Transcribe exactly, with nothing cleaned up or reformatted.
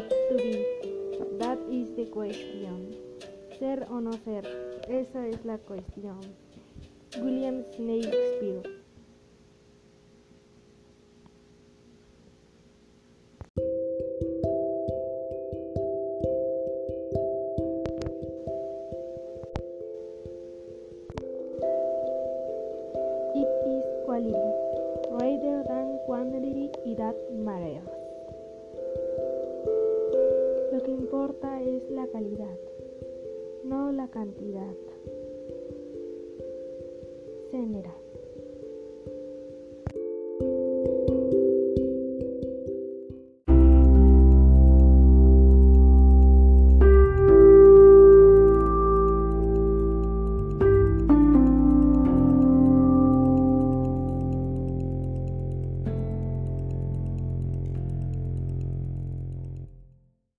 To be, that is the question. Ser o no ser, esa es la cuestión. William Shakespeare. It is quality, rather than quantity, that matters. Lo que importa es la calidad, no la cantidad. Senera.